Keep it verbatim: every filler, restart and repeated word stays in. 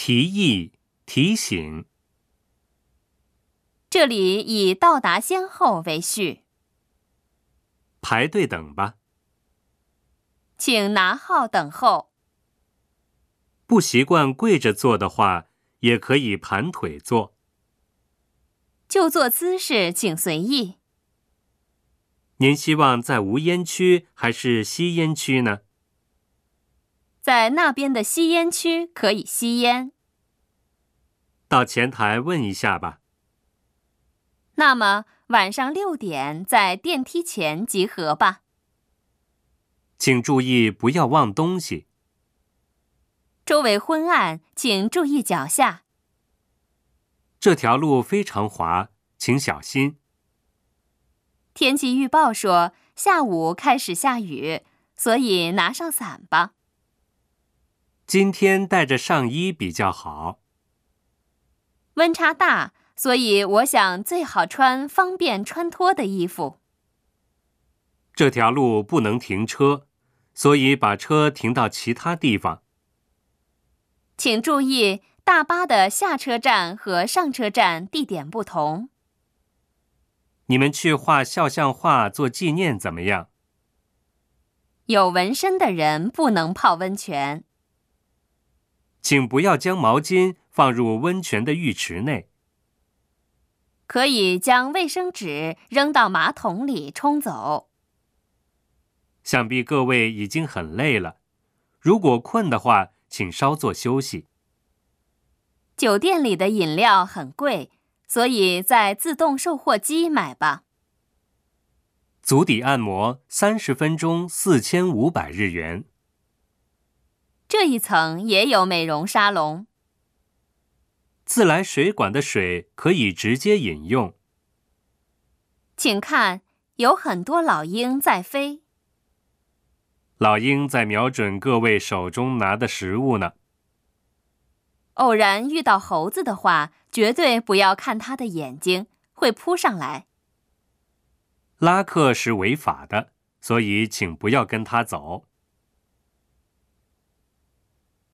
提议、提醒。 这里以到达先后为序。 排队等吧。 请拿号等候。 不习惯跪着坐的话，也可以盘腿坐。 就坐姿势请随意。 您希望在无烟区还是吸烟区呢？ 在那边的吸烟区可以吸烟。 到前台问一下吧。 那么晚上六点在电梯前集合吧。 请注意不要忘东西。 周围昏暗，请注意脚下。 这条路非常滑，请小心。 天气预报说下午开始下雨，所以拿上伞吧。 今天带着上衣比较好。 温差大，所以我想最好穿方便穿脱的衣服。 这条路不能停车，所以把车停到其他地方。 请注意，大巴的下车站和上车站地点不同。 你们去画肖像画做纪念怎么样？ 有纹身的人不能泡温泉。 请不要将毛巾放入温泉的浴池内。 可以将卫生纸扔到马桶里冲走。 想必各位已经很累了，如果困的话，请稍作休息。 酒店里的饮料很贵，所以在自动售货机买吧。 足底按摩三十分钟四千五百日元。 这一层也有美容沙龙。 自来水管的水可以直接饮用。 请看，有很多老鹰在飞。 老鹰在瞄准各位手中拿的食物呢。 偶然遇到猴子的话，绝对不要看它的眼睛，会扑上来。 拉客是违法的，所以请不要跟他走。